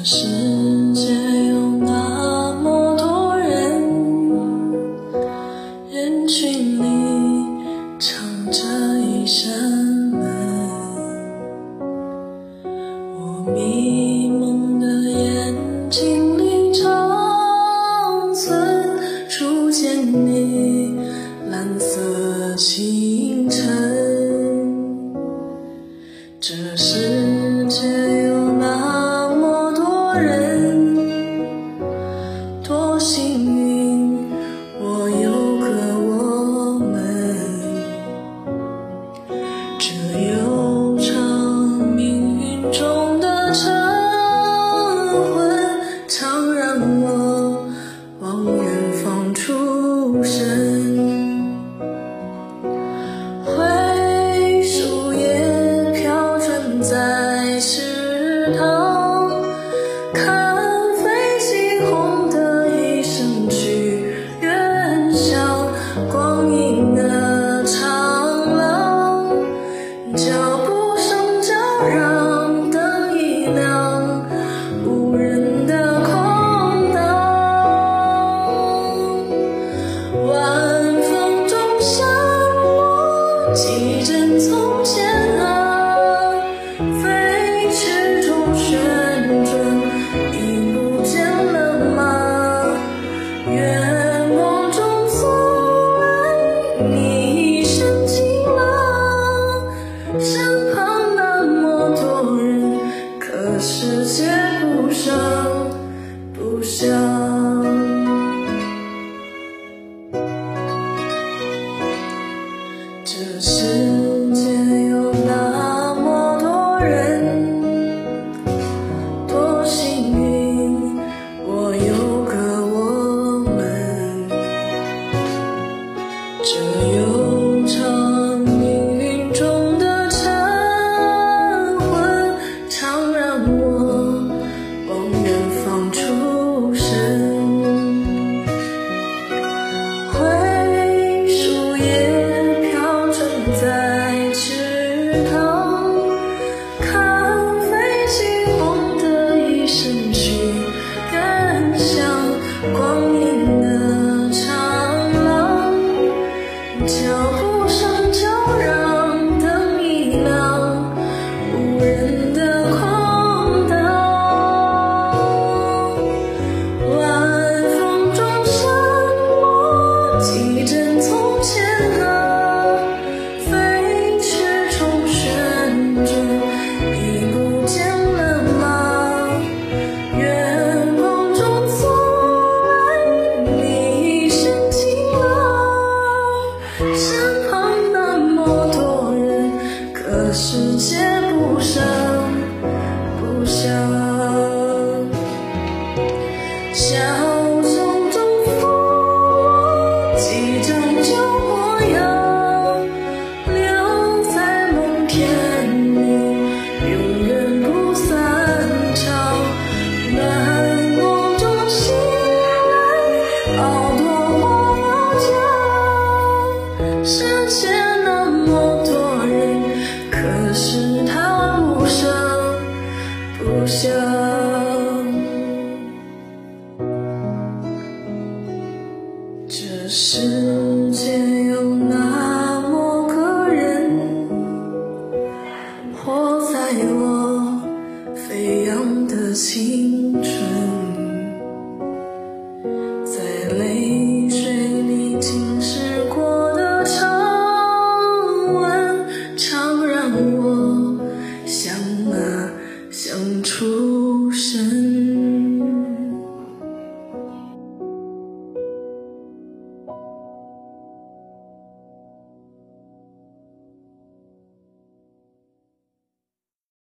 世界有那么多人，人群里藏着一扇门，我迷蒙的眼睛里长存初见你蓝色清晨。这世界有那么多人，多幸运我有个我们，这悠长命运中的晨昏，常让我往远方出神。灰树叶飘转在池塘，看飞机轰的一声去远乡，光阴的长廊，脚步声叫嚷，灯一亮，无人的空荡，晚风中闪落几帧从前啊，飞驰中旋转，已不见了吗？月光中从来你已深情了，身旁那么多人，可世界不声不响。这世界有那么多人，多幸运我有个我们，这悠长命运中的晨昏，常让我往远方出神。灰树叶飘转在池塘，看飞机轰的一声去远乡，光阴的长廊，脚步声叫嚷，灯一亮，无人的空荡，晚风中闪落几帧从前啊，飞驰中旋转，已不见了吗？月光中从来你已深情了，身旁那么多人，可世界不声不响。小丛中拂落几张旧模样，留在梦片里，永远不散场。暖梦中醒来，好多话要讲。世界那么多人，可是他不声不响。